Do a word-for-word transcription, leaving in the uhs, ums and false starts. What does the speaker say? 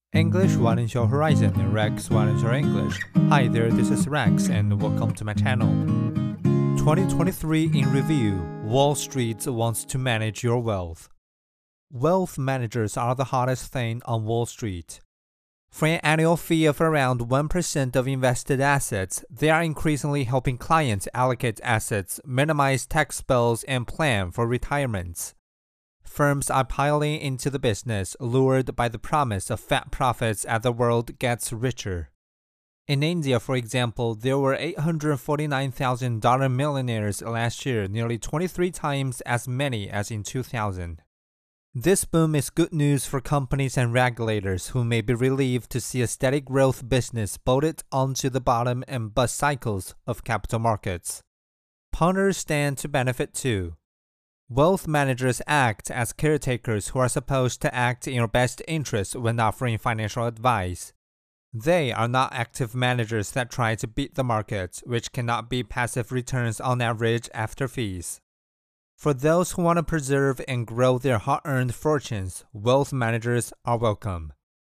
English widens your horizon and Rex widens your English. Hi there, this is Rex and welcome to my channel. twenty twenty-three in review. Wall Street wants to manage your wealth. Wealth managers are the hottest thing on Wall Street. For an annual fee of around one percent of invested assets, they are increasingly helping clients allocate assets, minimize tax bills, and plan for retirements. Firms are piling into the business, lured by the promise of fat profits as the world gets richer. In India, for example, there were eight hundred forty-nine thousand dollar millionaires last year, nearly twenty-three times as many as in two thousand. This boom is good news for companies and regulators who may be relieved to see a steady growth business bolted onto the bottom and bust cycles of capital markets. Punters stand to benefit too. Wealth managers act as caretakers who are supposed to act in your best interest when offering financial advice. They are not active managers that try to beat the market, which cannot be passive returns on average after fees. For those who want to preserve and grow their hard-earned fortunes, wealth managers are welcome.